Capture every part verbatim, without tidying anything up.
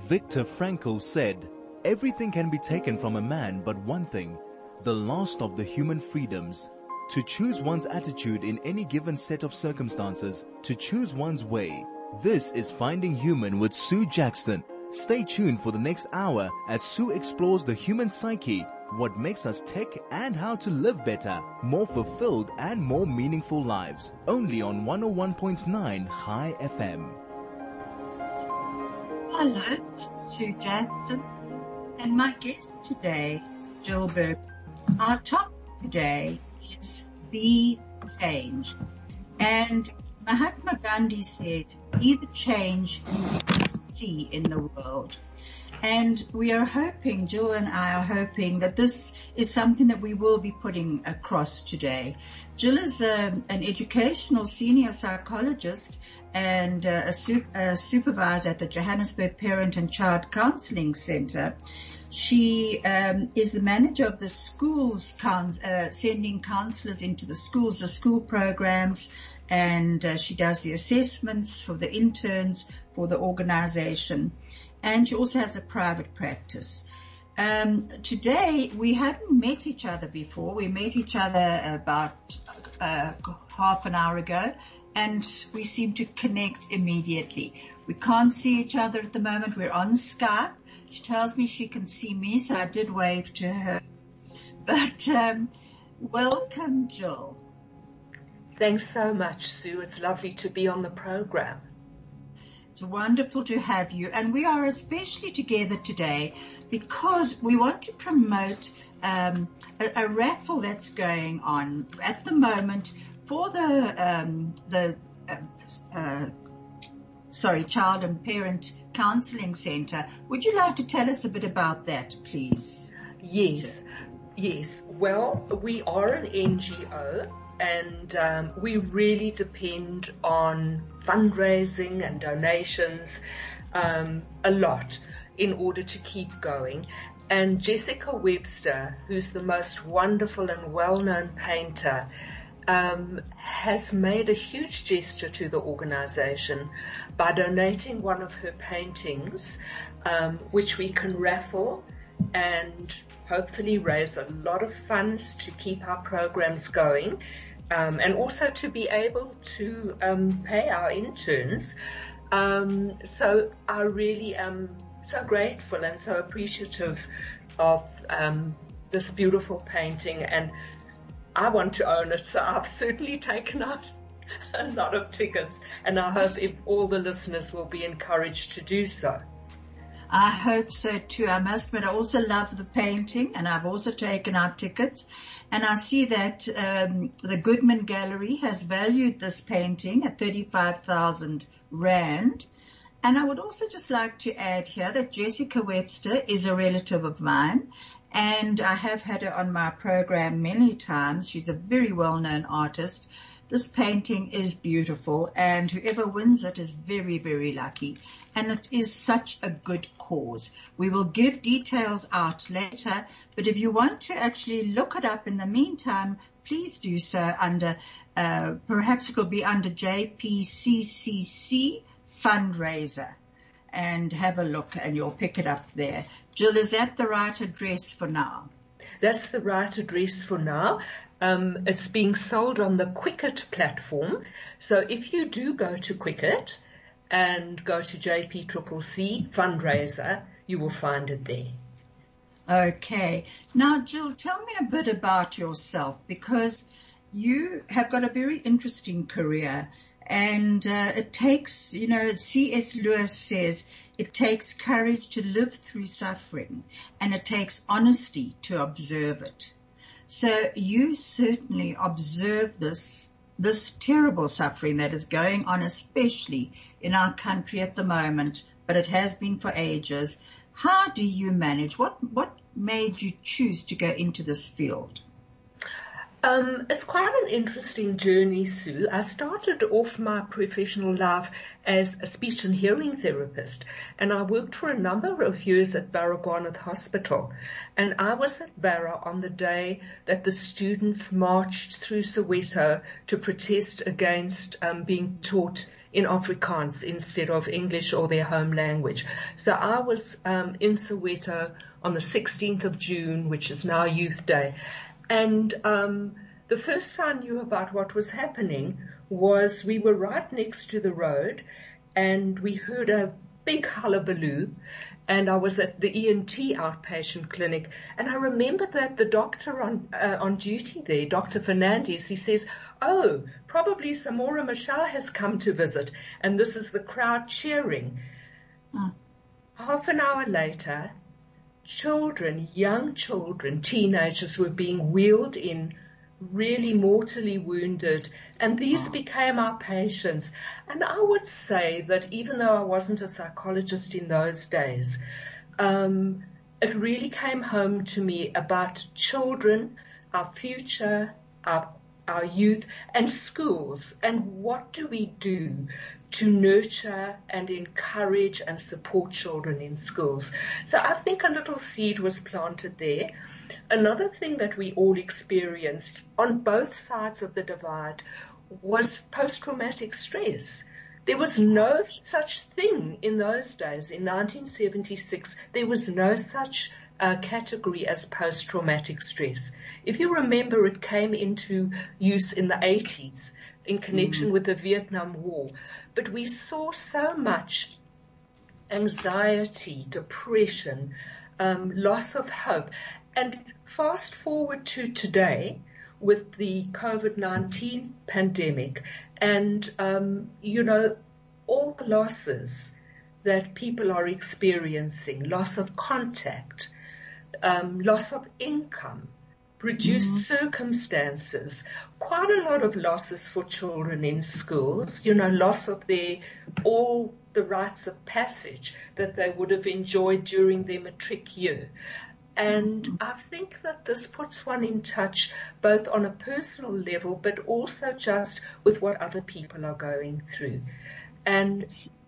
Viktor Frankl said, "Everything can be taken from a man but one thing, the last of the human freedoms. To choose one's attitude in any given set of circumstances, to choose one's way." This is Finding Human with Sue Jackson. Stay tuned for the next hour as Sue explores the human psyche, what makes us tick, and how to live better, more fulfilled and more meaningful lives. Only on one oh one point nine High F M. Hello, it's Sue Jackson, and my guest today is Jill Berg. Our topic today is Be Change. And Mahatma Gandhi said, "Be the change you see in the world." And we are hoping, Jill and I are hoping, that this is something that we will be putting across today. Jill is a, an educational senior psychologist and uh, a, su- a supervisor at the Johannesburg Parent and Child Counselling Centre. She um, is the manager of the schools, uh, sending counsellors into the schools, the school programs, and uh, she does the assessments for the interns for the organisation. And she also has a private practice. Um, today, we hadn't met each other before. We met each other about uh, half an hour ago, and we seem to connect immediately. We can't see each other at the moment. We're on Skype. She tells me she can see me, so I did wave to her. But um, welcome, Jill. Thanks so much, Sue. It's lovely to be on the program. It's wonderful to have you, and we are especially together today because we want to promote um, a, a raffle that's going on at the moment for the um, the uh, uh, sorry Child and Parent Counselling Centre. Would you like to tell us a bit about that, please? Yes, yes. Well, we are an N G O. And um, we really depend on fundraising and donations um, a lot in order to keep going. And Jessica Webster, who's the most wonderful and well-known painter, um, has made a huge gesture to the organization by donating one of her paintings, um, which we can raffle and hopefully raise a lot of funds to keep our programs going, um, and also to be able to um, pay our interns. Um, so I really am so grateful and so appreciative of um, this beautiful painting, and I want to own it, so I've certainly taken out a lot of tickets, and I hope if all the listeners will be encouraged to do so. I hope so too. I must admit, I also love the painting, and I've also taken out tickets. And I see that um, the Goodman Gallery has valued this painting at thirty-five thousand rand. And I would also just like to add here that Jessica Webster is a relative of mine, and I have had her on my program many times. She's a very well-known artist. This painting is beautiful, and whoever wins it is very, very lucky. And it is such a good cause. We will give details out later, but if you want to actually look it up in the meantime, please do so under, uh, perhaps it will be under J P C C C fundraiser, and have a look and you'll pick it up there. Jill, is that the right address for now? That's the right address for now. Um, it's being sold on the Quicket platform. So if you do go to Quicket and go to J P C C C fundraiser, you will find it there. Okay. Now, Jill, tell me a bit about yourself, because you have got a very interesting career, and uh, it takes, you know, C S Lewis says, it takes courage to live through suffering, and it takes honesty to observe it. So you certainly observe this, this terrible suffering that is going on, especially in our country at the moment, but it has been for ages. How do you manage? What, what made you choose to go into this field? Um, it's quite an interesting journey, Sue. I started off my professional life as a speech and hearing therapist, and I worked for a number of years at Baragwanath Hospital. And I was at Barra on the day that the students marched through Soweto to protest against um, being taught in Afrikaans instead of English or their home language. So I was um, in Soweto on the sixteenth of June, which is now Youth Day. And um, the first I knew about what was happening was we were right next to the road, and we heard a big hullabaloo, and I was at the E N T outpatient clinic, and I remember that the doctor on uh, on duty there, Doctor Fernandez, he says, "Oh, probably Samora Machel has come to visit," and this is the crowd cheering. Oh. Half an hour later, children, young children, teenagers were being wheeled in, really mortally wounded, and these became our patients. And I would say that even though I wasn't a psychologist in those days, um, it really came home to me about children, our future, our our youth, and schools, and what do we do to nurture and encourage and support children in schools. So I think a little seed was planted there. Another thing that we all experienced on both sides of the divide was post-traumatic stress. There was no such thing in those days. In nineteen seventy-six, there was no such uh, category as post-traumatic stress. If you remember, it came into use in the eighties in connection mm. with the Vietnam War. But we saw so much anxiety, depression, um, loss of hope. And fast forward to today with the COVID nineteen pandemic and, um, you know, all the losses that people are experiencing, loss of contact, um, loss of income, reduced mm-hmm. circumstances, quite a lot of losses for children in schools, you know, loss of their, all the rites of passage that they would have enjoyed during their matric year. And I think that this puts one in touch both on a personal level, but also just with what other people are going through. And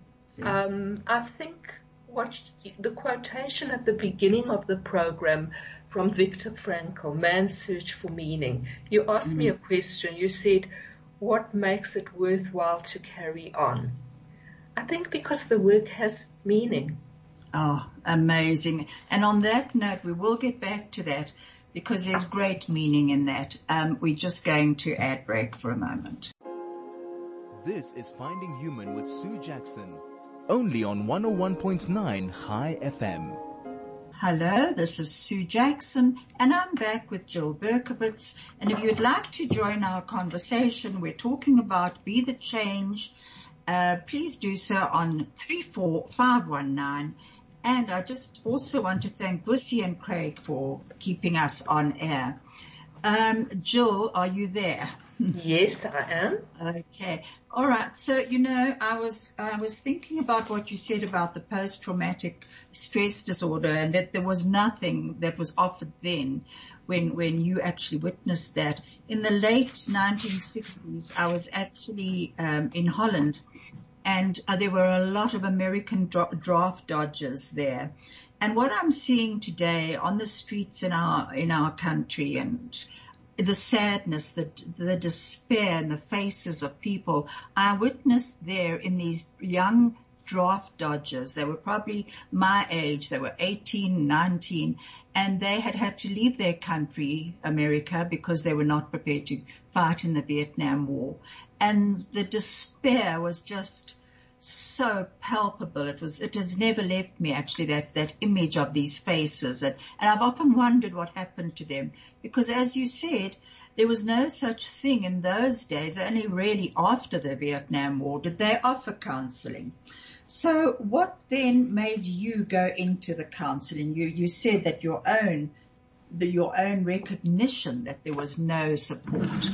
um, I think what the quotation at the beginning of the program from Viktor Frankl, Man's Search for Meaning, you asked mm. me a question. You said, what makes it worthwhile to carry on? I think because the work has meaning. Oh, amazing. And on that note, we will get back to that because there's great meaning in that. Um, we're just going to ad break for a moment. This is Finding Human with Sue Jackson, only on one oh one point nine High F M. Hello, this is Sue Jackson, and I'm back with Jill Berkowitz. And if you'd like to join our conversation, we're talking about Be the Change. Uh, please do so on three four five one nine. And I just also want to thank Bussy and Craig for keeping us on air. Um, Jill, are you there? Yes, I am. Okay. All right. So, you know, I was, I was thinking about what you said about the post-traumatic stress disorder and that there was nothing that was offered then when, when you actually witnessed that. In the late nineteen sixties, I was actually, um, in Holland and uh, there were a lot of American dra- draft dodgers there. And what I'm seeing today on the streets in our, in our country and the sadness, the, the despair in the faces of people, I witnessed there in these young draft dodgers. They were probably my age. They were eighteen, nineteen, and they had had to leave their country, America, because they were not prepared to fight in the Vietnam War. And the despair was just so palpable. It was, it has never left me actually, that, that image of these faces. And, and I've often wondered what happened to them because as you said, there was no such thing in those days. Only really after the Vietnam War did they offer counseling. So what then made you go into the counseling? You, you said that your own, the, your own recognition that there was no support.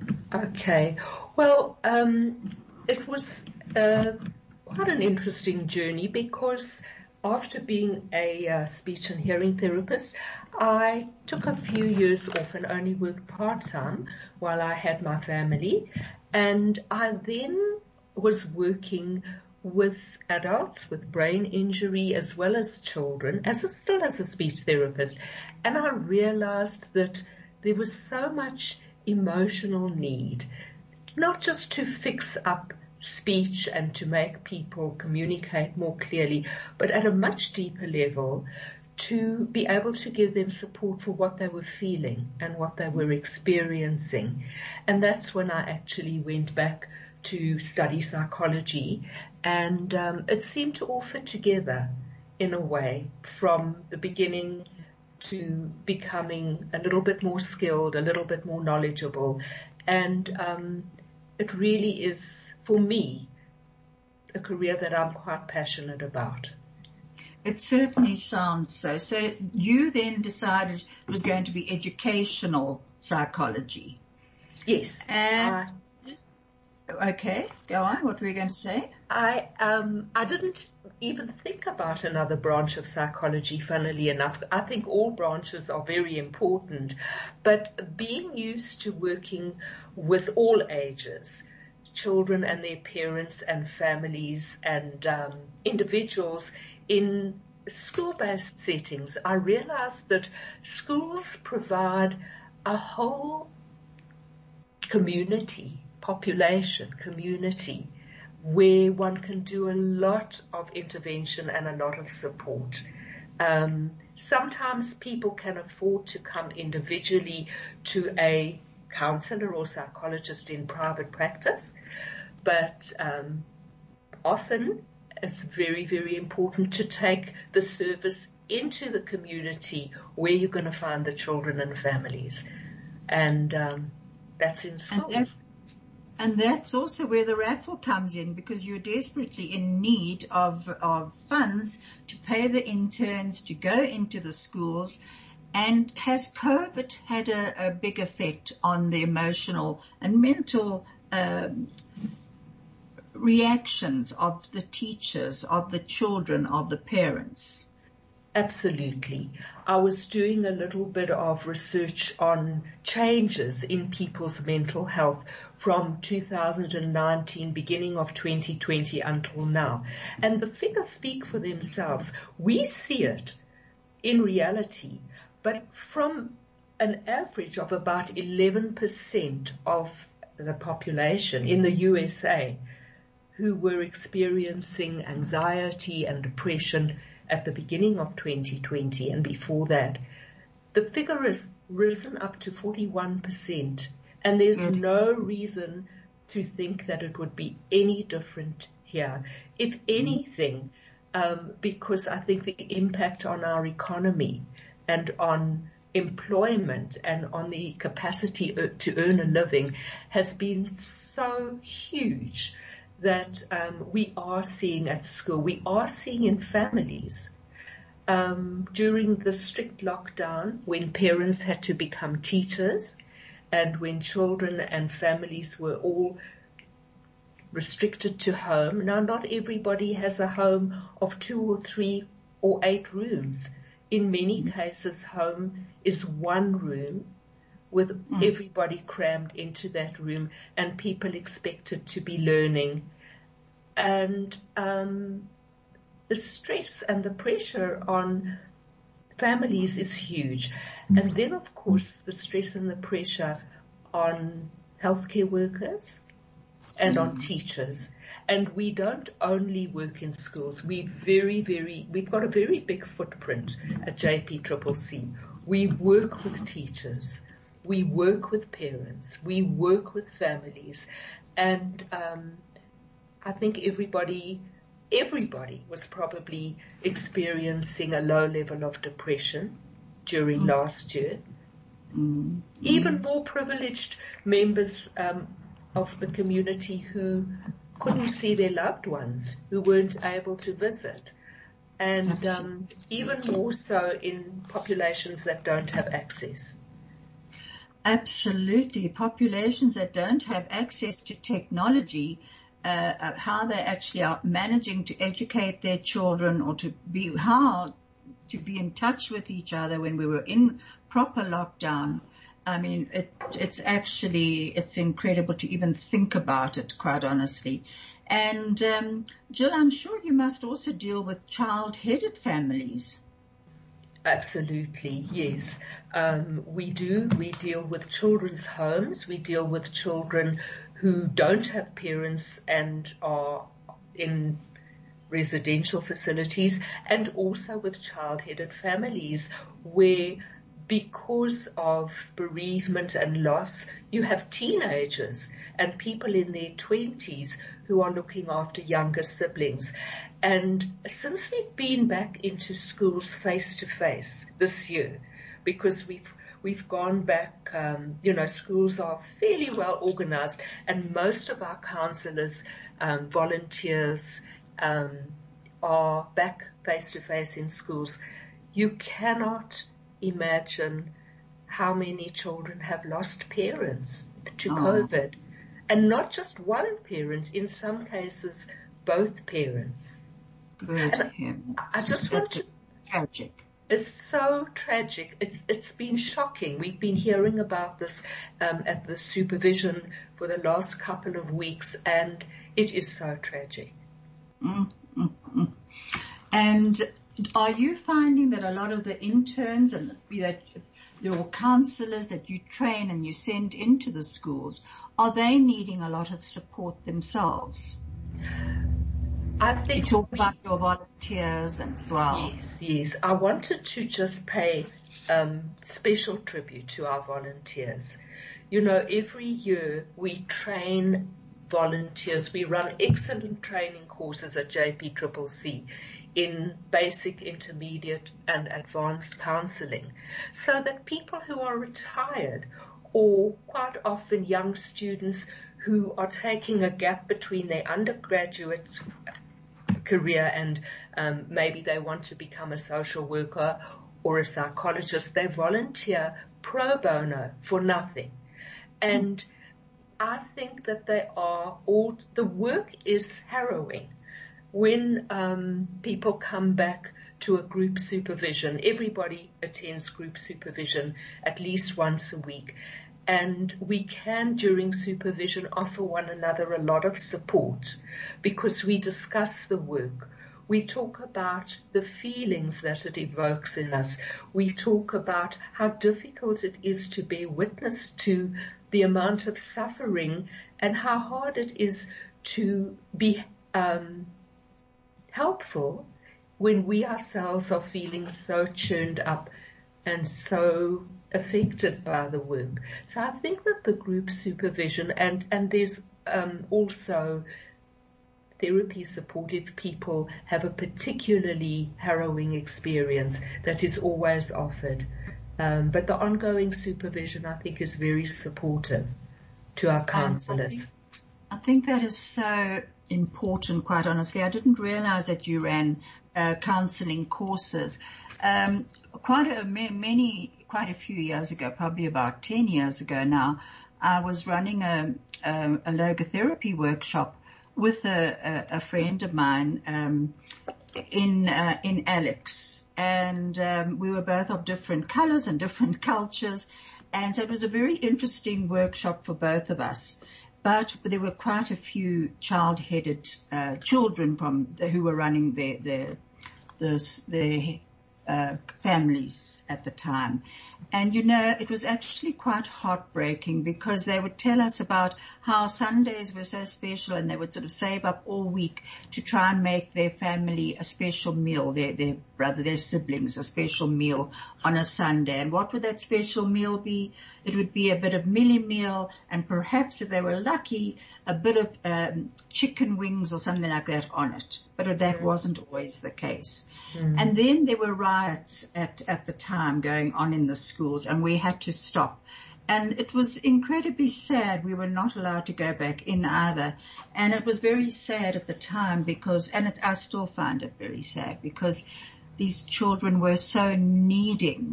Okay. Well, um, it was, uh, quite an interesting journey because after being a uh, speech and hearing therapist, I took a few years off and only worked part-time while I had my family. And I then was working with adults with brain injury as well as children, as a, still as a speech therapist. And I realized that there was so much emotional need, not just to fix up speech and to make people communicate more clearly, but at a much deeper level to be able to give them support for what they were feeling and what they were experiencing. And that's when I actually went back to study psychology, and um, it seemed to all fit together in a way from the beginning to becoming a little bit more skilled, a little bit more knowledgeable. And um, it really is, for me, a career that I'm quite passionate about. It certainly sounds so. So you then decided it was going to be educational psychology. Yes. And I, okay, go on. What were you going to say? I um I didn't even think about another branch of psychology, funnily enough. I think all branches are very important, but being used to working with all ages, children and their parents and families and um, individuals in school-based settings, I realized that schools provide a whole community, population, community, where one can do a lot of intervention and a lot of support. Um, sometimes people can afford to come individually to a counselor or psychologist in private practice, but um, often it's very, very important to take the service into the community where you're going to find the children and families. And um, that's in schools. And that's, and that's also where the raffle comes in, because you're desperately in need of, of funds to pay the interns to go into the schools. And has COVID had a, a big effect on the emotional and mental um, reactions of the teachers, of the children, of the parents? Absolutely. I was doing a little bit of research on changes in people's mental health from two thousand nineteen, beginning of twenty twenty until now. And the figures speak for themselves. We see it in reality, but from an average of about eleven percent of the population in the U S A who were experiencing anxiety and depression at the beginning of twenty twenty and before that, the figure has risen up to forty-one percent. And there's mm. no reason to think that it would be any different here. If anything, um, because I think the impact on our economy and on employment and on the capacity to earn a living has been so huge that um, we are seeing at school, we are seeing in families. Um, during the strict lockdown, when parents had to become teachers and when children and families were all restricted to home. Now, not everybody has a home of two or three or eight rooms. In many cases, home is one room with mm. everybody crammed into that room and people expected to be learning. And um, the stress and the pressure on families is huge. And then, of course, the stress and the pressure on healthcare workers and on teachers. And we don't only work in schools. We very, very, we've got a very big footprint at J P C C C. We work with teachers. We work with parents. We work with families. And um, I think everybody, everybody was probably experiencing a low level of depression during mm. last year. Mm. Even more privileged members um, of the community who couldn't see their loved ones, who weren't able to visit. And um, even more so in populations that don't have access. Absolutely. Populations that don't have access to technology uh, uh, how they actually are managing to educate their children, or to be, how to be in touch with each other when we were in proper lockdown. I mean, it, it's actually, it's incredible to even think about it, quite honestly. And, um, Jill, I'm sure you must also deal with child-headed families. Absolutely, yes. Um, we do. We deal with children's homes. We deal with children who don't have parents and are in residential facilities, and also with child-headed families where, because of bereavement and loss, you have teenagers and people in their twenties who are looking after younger siblings. And since we've been back into schools face to face this year, because we've we've gone back, um, you know, schools are fairly well organized, and most of our counselors, um, volunteers, um, are back face to face in schools. You cannot imagine how many children have lost parents to oh. COVID, and not just one parent, in some cases both parents. Good. I just want to, tragic. It's so tragic. It's it's been shocking. We've been hearing about this um, at the supervision for the last couple of weeks, and it is so tragic. Mm, mm, mm. And are you finding that a lot of the interns and that your counselors that you train and you send into the schools, are they needing a lot of support themselves? I think you talk we, about your volunteers as well. Yes, yes. I wanted to just pay um, special tribute to our volunteers. You know, every year we train volunteers. We run excellent training courses at J P C C C in basic, intermediate and advanced counseling, so that people who are retired, or quite often young students who are taking a gap between their undergraduate career and um, maybe they want to become a social worker or a psychologist, they volunteer pro bono for nothing. And I think that they are all, the work is harrowing. When um, people come back to a group supervision, everybody attends group supervision at least once a week. And we can, during supervision, offer one another a lot of support because we discuss the work. We talk about the feelings that it evokes in us. We talk about how difficult it is to bear witness to the amount of suffering and how hard it is to be um, helpful when we ourselves are feeling so churned up and so affected by the work. So I think that the group supervision and, and there's um, also therapy support if people have a particularly harrowing experience that is always offered. Um, but the ongoing supervision, I think, is very supportive to our counsellors. I think that is so important, quite honestly. I didn't realize that you ran uh, counselling courses. Um, quite a, many, quite a few years ago, probably about ten years ago now, I was running a, a, a logotherapy workshop with a, a, a friend of mine um, in uh, in Alex, and um, we were both of different colours and different cultures, and so it was a very interesting workshop for both of us. But there were quite a few child-headed uh, children from the, who were running their their their, their uh, families at the time. And, you know, it was actually quite heartbreaking because they would tell us about how Sundays were so special and they would sort of save up all week to try and make their family a special meal, their, their brother, their siblings, a special meal on a Sunday. And what would that special meal be? It would be a bit of millie meal and perhaps, if they were lucky, a bit of um, chicken wings or something like that on it. But that wasn't always the case. Mm. And then there were riots at, at the time going on in the schools, and we had to stop. And it was incredibly sad. We were not allowed to go back in either. And it was very sad at the time because, and it, I still find it very sad because these children were so needing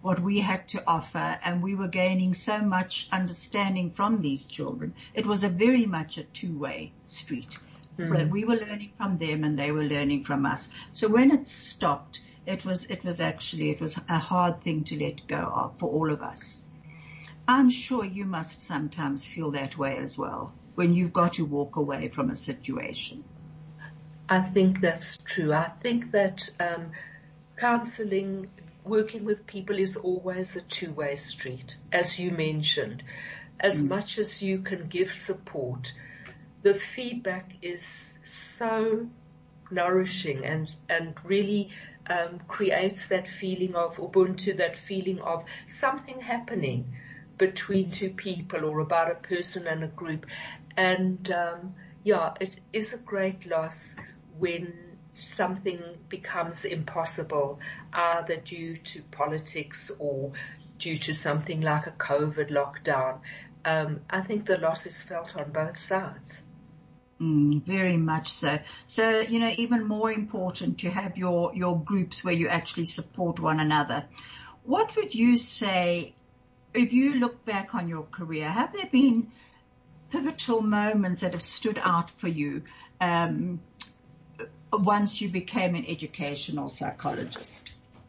what we had to offer, and we were gaining so much understanding from these children. It was a very much a two-way street. Mm. We were learning from them and they were learning from us. So when it stopped, it was, it was actually, it was a hard thing to let go of for all of us. I'm sure you must sometimes feel that way as well, when you've got to walk away from a situation. I think that's true. I think that um, counseling, working with people is always a two-way street, as you mentioned. As mm. much as you can give support, the feedback is so nourishing and, and really um, creates that feeling of Ubuntu, that feeling of something happening between two people or about a person and a group. And um, yeah, it is a great loss when something becomes impossible, either due to politics or due to something like a COVID lockdown. Um, I think the loss is felt on both sides. Mm, very much so. So, you know, even more important to have your, your groups where you actually support one another. What would you say, if you look back on your career, have there been pivotal moments that have stood out for you um, once you became an educational psychologist?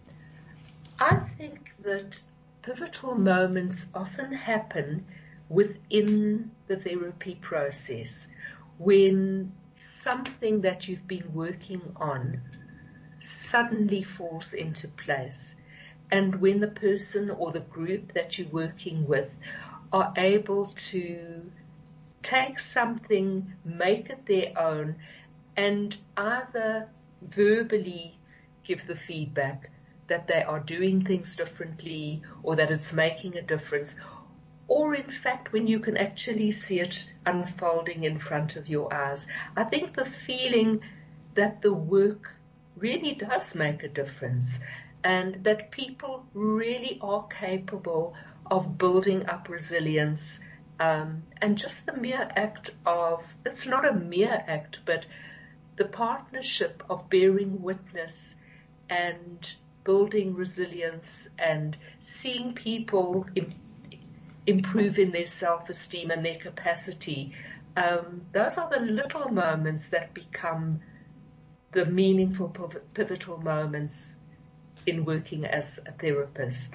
I think that pivotal moments often happen within the therapy process, when something that you've been working on suddenly falls into place, and when the person or the group that you're working with are able to take something, make it their own, and either verbally give the feedback that they are doing things differently or that it's making a difference, or in fact when you can actually see it unfolding in front of your eyes. I think the feeling that the work really does make a difference and that people really are capable of building up resilience, um, and just the mere act of, it's not a mere act, but the partnership of bearing witness and building resilience and seeing people in, improve in their self-esteem and their capacity. Um, those are the little moments that become the meaningful, pivotal moments in working as a therapist.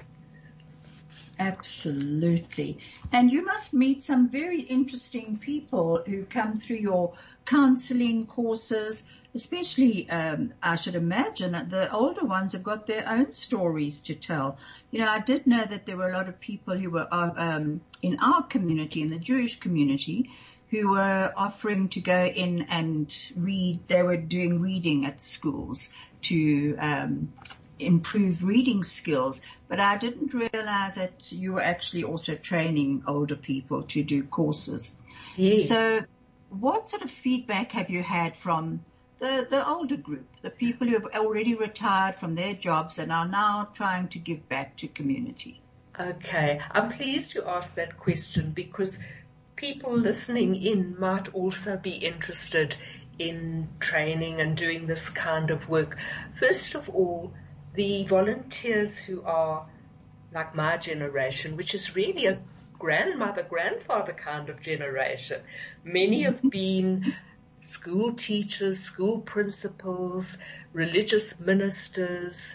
Absolutely. And you must meet some very interesting people who come through your counseling courses, especially, um, I should imagine that the older ones have got their own stories to tell. You know, I did know that there were a lot of people who were um, in our community, in the Jewish community, who were offering to go in and read. They were doing reading at schools to um, improve reading skills. But I didn't realize that you were actually also training older people to do courses. Yes. So what sort of feedback have you had from the, the older group, the people who have already retired from their jobs and are now trying to give back to community? Okay. I'm pleased you asked that question because people listening in might also be interested in training and doing this kind of work. First of all, the volunteers who are like my generation, which is really a grandmother, grandfather kind of generation. Many have been school teachers, school principals, religious ministers,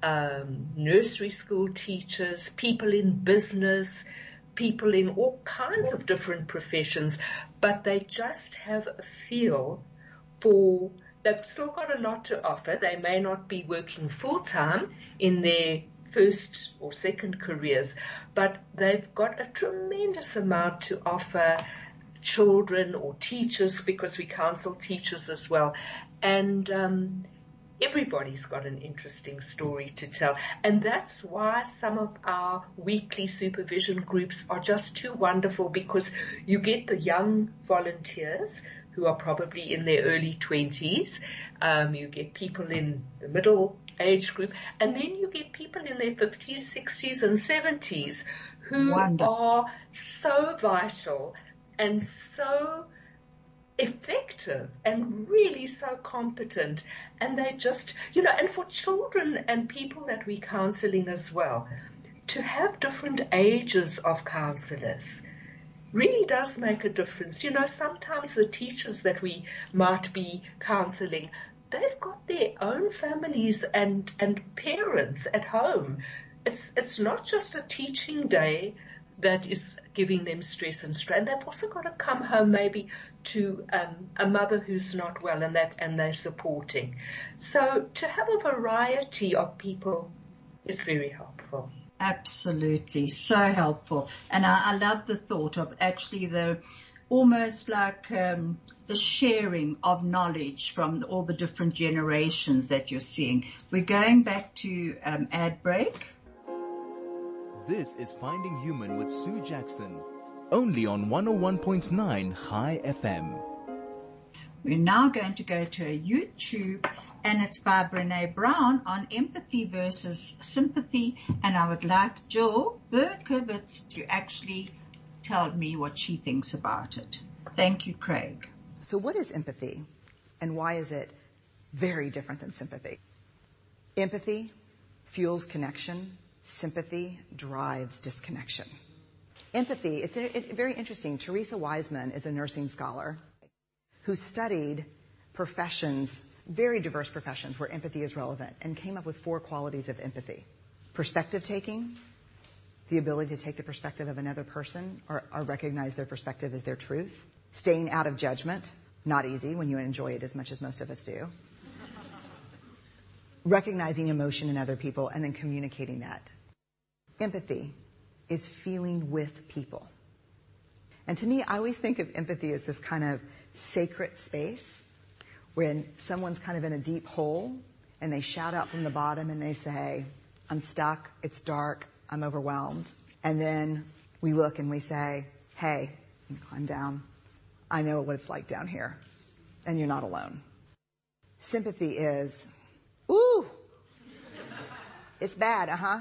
um, nursery school teachers, people in business, people in all kinds of different professions, but they just have a feel for, they've still got a lot to offer. They may not be working full-time in their first or second careers, but they've got a tremendous amount to offer children or teachers, because we counsel teachers as well. And um, everybody's got an interesting story to tell. And that's why some of our weekly supervision groups are just too wonderful, because you get the young volunteers who are probably in their early twenties. Um, you get people in the middle age group, and then you get people in their fifties, sixties, and seventies who Wonderful. are so vital and so effective and really so competent. And they just, you know, and for children and people that we're counseling as well, to have different ages of counselors really does make a difference. You know, sometimes the teachers that we might be counseling, they've got their own families and, and parents at home. It's, it's not just a teaching day that is giving them stress and strain. They've also got to come home maybe to um, a mother who's not well and that, and they're supporting. So to have a variety of people is very helpful. Absolutely. So helpful. And I, I love the thought of actually the almost like um, the sharing of knowledge from all the different generations that you're seeing. We're going back to um, ad break. This is Finding Human with Sue Jackson, only on one oh one point nine High F M. We're now going to go to a YouTube, and it's by Brené Brown on empathy versus sympathy. And I would like Jill Berkowitz to actually tell me what she thinks about it. Thank you, Craig. So what is empathy, and why is it very different than sympathy? Empathy fuels connection. Sympathy drives disconnection. Empathy, it's a, it, very interesting. Teresa Wiseman is a nursing scholar who studied professions, very diverse professions where empathy is relevant, and came up with four qualities of empathy. Perspective taking, the ability to take the perspective of another person or, or recognize their perspective as their truth. Staying out of judgment, not easy when you enjoy it as much as most of us do. Recognizing emotion in other people and then communicating that. Empathy is feeling with people. And to me, I always think of empathy as this kind of sacred space when someone's kind of in a deep hole and they shout out from the bottom and they say, I'm stuck, it's dark, I'm overwhelmed. And then we look and we say, hey, climb down. I know what it's like down here, and you're not alone. Sympathy is, ooh, it's bad, uh-huh.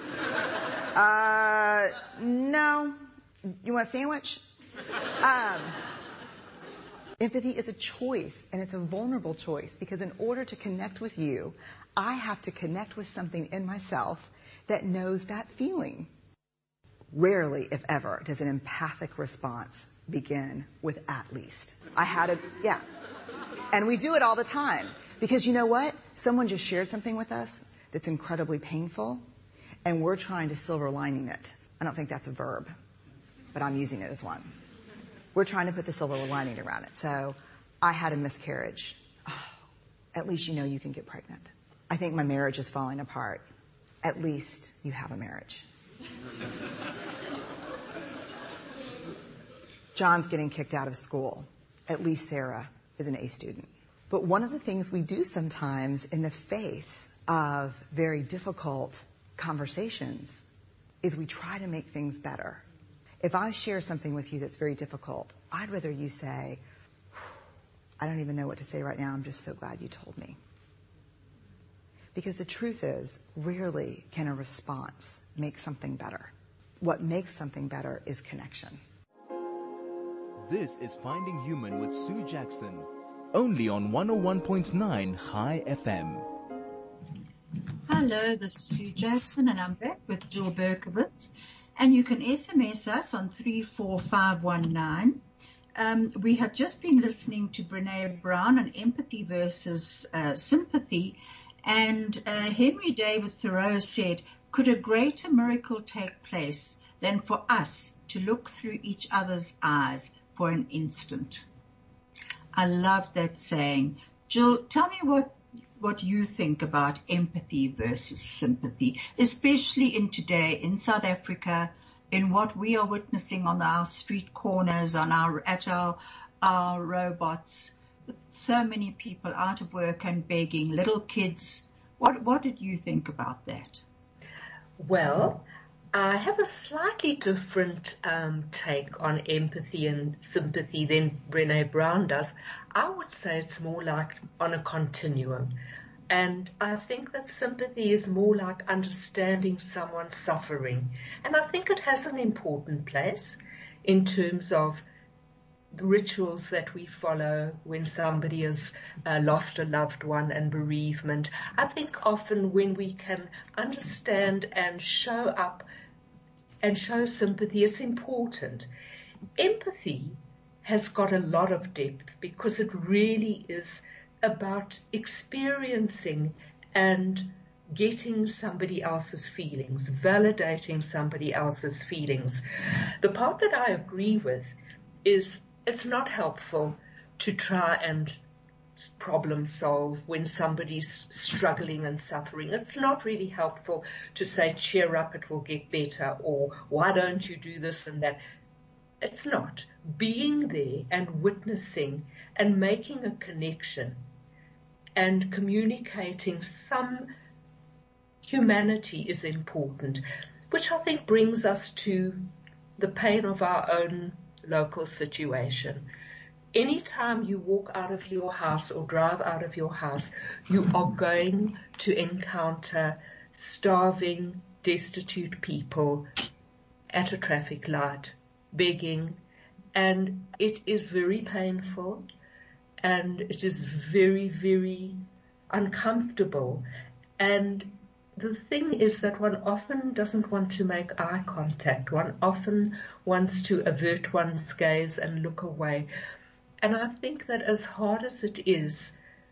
Uh, no. You want a sandwich? Um, empathy is a choice, and it's a vulnerable choice, because in order to connect with you, I have to connect with something in myself that knows that feeling. Rarely, if ever, does an empathic response begin with at least. I had a, yeah. And we do it all the time. Because you know what? Someone just shared something with us that's incredibly painful, and we're trying to silver lining it. I don't think that's a verb, but I'm using it as one. We're trying to put the silver lining around it. So I had a miscarriage. Oh, at least you know you can get pregnant. I think my marriage is falling apart. At least you have a marriage. John's getting kicked out of school. At least Sarah is an A student. But one of the things we do sometimes in the face of very difficult conversations is we try to make things better. If I share something with you that's very difficult, I'd rather you say, I don't even know what to say right now. I'm just so glad you told me. Because the truth is, rarely can a response make something better. What makes something better is connection. This is Finding Human with Sue Jackson, only on one oh one point nine High F M. Hello, this is Sue Jackson, and I'm back with Jill Berkowitz. And you can S M S us on three four five one nine. Um, we have just been listening to Brené Brown on empathy versus uh, sympathy. And uh, Henry David Thoreau said, could a greater miracle take place than for us to look through each other's eyes for an instant? I love that saying. Jill, tell me what what you think about empathy versus sympathy, especially in today, in South Africa, in what we are witnessing on our street corners, on our, at our, our robots, so many people out of work and begging, little kids. What, what did you think about that? Well, I have a slightly different um, take on empathy and sympathy than Brené Brown does. I would say it's more like on a continuum. And I think that sympathy is more like understanding someone's suffering. And I think it has an important place in terms of rituals that we follow when somebody has uh, lost a loved one and bereavement. I think often when we can understand and show up and show sympathy, it's important. Empathy has got a lot of depth because it really is about experiencing and getting somebody else's feelings, validating somebody else's feelings. The part that I agree with is it's not helpful to try and problem solve when somebody's struggling and suffering. It's not really helpful to say, cheer up, it will get better, or why don't you do this and that. It's not. Being there and witnessing and making a connection and communicating some humanity is important, which I think brings us to the pain of our own local situation. Anytime you walk out of your house or drive out of your house, you are going to encounter starving, destitute people at a traffic light, begging, and it is very painful and it is very, very uncomfortable. And the thing is that one often doesn't want to make eye contact. One often wants to avert one's gaze and look away. And I think that as hard as it is,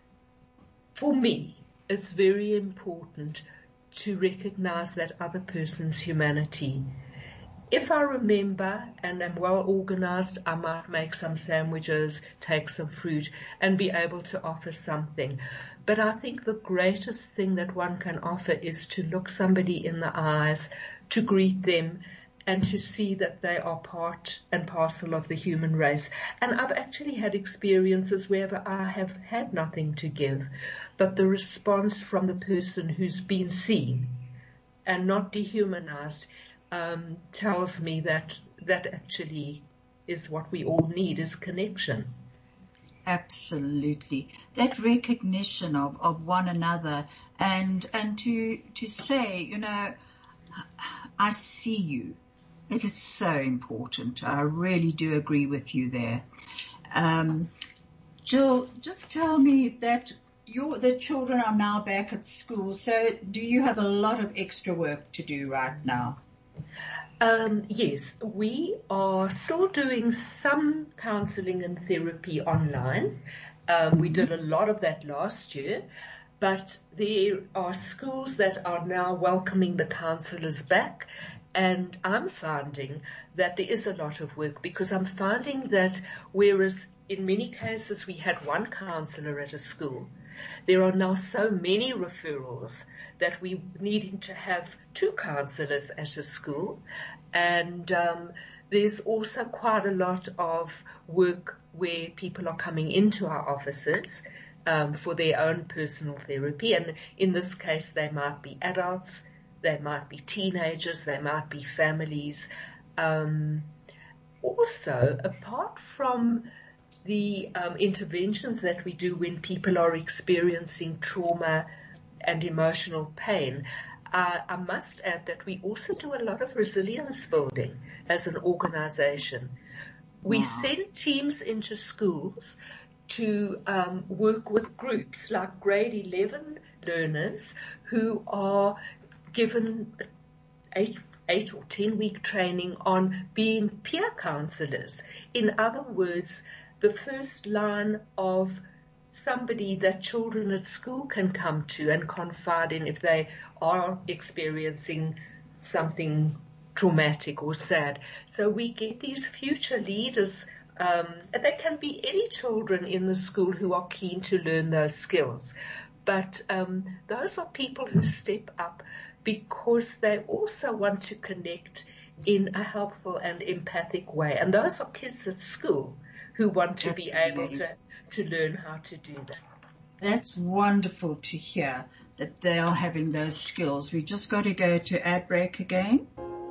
for me, it's very important to recognize that other person's humanity. If I remember and am well organized, I might make some sandwiches, take some fruit, and be able to offer something. But I think the greatest thing that one can offer is to look somebody in the eyes, to greet them, and to see that they are part and parcel of the human race. And I've actually had experiences where I have had nothing to give, but the response from the person who's been seen and not dehumanized um, tells me that that actually is what we all need, is connection. Absolutely. That recognition of, of one another and, and to, to say, you know, I see you. It is so important. I really do agree with you there. Um, Jill, just tell me that your, the children are now back at school. So do you have a lot of extra work to do right now? Um, yes, we are still doing some counseling and therapy online. Um, we did a lot of that last year, but there are schools that are now welcoming the counselors back. And I'm finding that there is a lot of work, because I'm finding that whereas in many cases we had one counselor at a school, there are now so many referrals that we're needing to have two counselors at a school. And um, there's also quite a lot of work where people are coming into our offices um, for their own personal therapy. And in this case, they might be adults, they might be teenagers, they might be families. Um, also, apart from the um, interventions that we do when people are experiencing trauma and emotional pain, uh, I must add that we also do a lot of resilience building as an organization. We wow. send teams into schools to um, work with groups like grade eleven learners who are given eight, eight or ten week training on being peer counselors. In other words, the first line of somebody that children at school can come to and confide in if they are experiencing something traumatic or sad. So we get these future leaders, um, and they can be any children in the school who are keen to learn those skills. But um, those are people who step up because they also want to connect in a helpful and empathic way. And those are kids at school who want to That's be able to, to learn how to do that. That's wonderful to hear that they are having those skills. We just got to go to ad break again.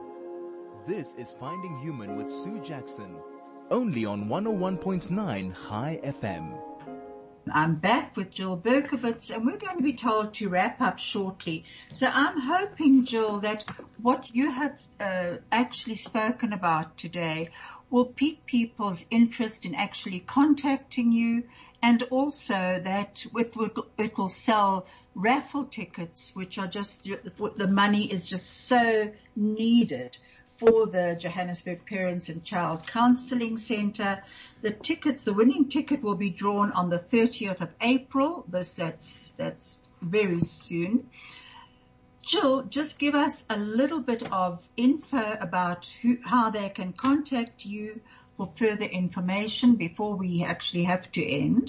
This is Finding Human with Sue Jackson, only on one oh one point nine High F M. I'm back with Jill Berkowitz, and we're going to be told to wrap up shortly. So I'm hoping, Jill, that what you have uh, actually spoken about today will pique people's interest in actually contacting you, and also that it will, it will sell raffle tickets, which are just, the money is just so needed for the Johannesburg Parents and Child Counselling Centre. The tickets, the winning ticket will be drawn on the thirtieth of April. This, that's, that's very soon. Jill, just give us a little bit of info about who, how they can contact you for further information before we actually have to end.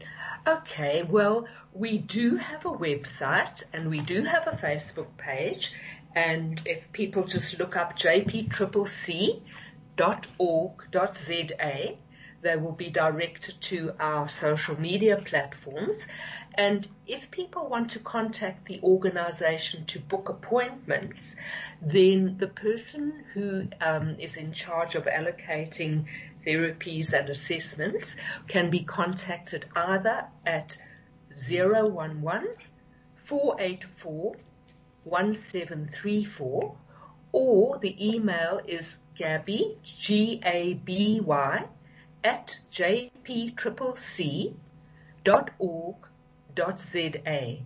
Okay, well, we do have a website and we do have a Facebook page, and if people just look up j p c c c dot org dot z a, they will be directed to our social media platforms. And if people want to contact the organization to book appointments, then the person who um, is in charge of allocating therapies and assessments can be contacted either at zero one one, four eight four, one seven three four, or the email is Gabby, G A B Y, at j p c c c dot org dot z a.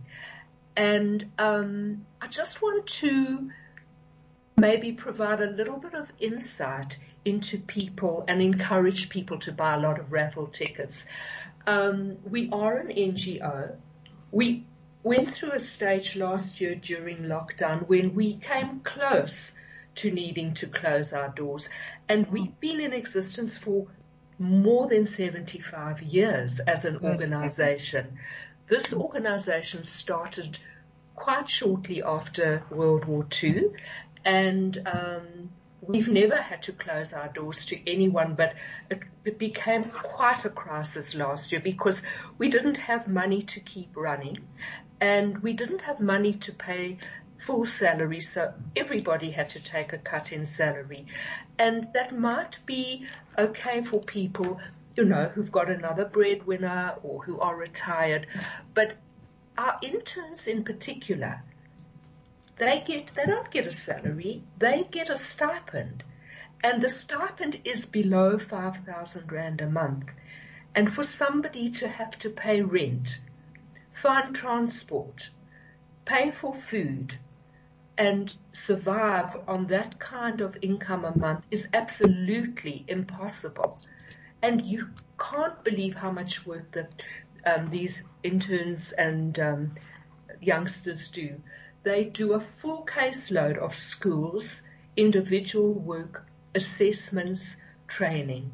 And um, I just want to maybe provide a little bit of insight into people and encourage people to buy a lot of raffle tickets. Um, we are an N G O. We went through a stage last year during lockdown when we came close to needing to close our doors, and we've been in existence for more than seventy-five years as an organization. This organization started quite shortly after World War Two, and um, we've never had to close our doors to anyone, but it, it became quite a crisis last year because we didn't have money to keep running, and we didn't have money to pay full salary, so everybody had to take a cut in salary. And that might be okay for people, you know, who've got another breadwinner or who are retired, but our interns in particular, they get, they don't get a salary, they get a stipend, and the stipend is below five thousand rand a month. And for somebody to have to pay rent, find transport, pay for food, and survive on that kind of income a month is absolutely impossible. And you can't believe how much work that um, these interns and um, youngsters do. They do a full caseload of schools, individual work, assessments, training.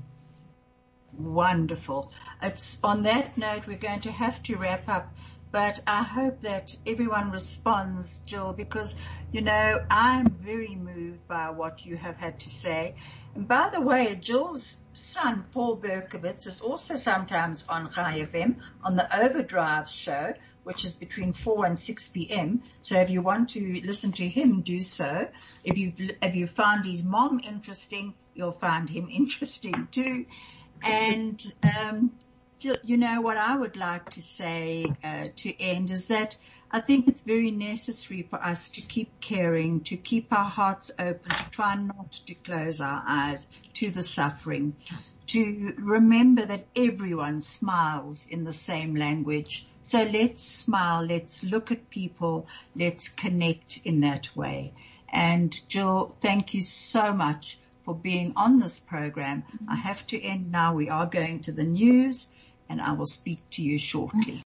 Wonderful. It's on that note we're going to have to wrap up. But I hope that everyone responds, Jill, because, you know, I'm very moved by what you have had to say. And by the way, Jill's son, Paul Berkowitz, is also sometimes on Chai F M on the Overdrive show, which is between four and six p.m. So if you want to listen to him, do so. If you if you found his mom interesting, you'll find him interesting too. And um you know, what I would like to say uh, to end is that I think it's very necessary for us to keep caring, to keep our hearts open, to try not to close our eyes to the suffering, to remember that everyone smiles in the same language. So let's smile, let's look at people, let's connect in that way. And Jill, thank you so much for being on this program. I have to end now. We are going to the news, and I will speak to you shortly.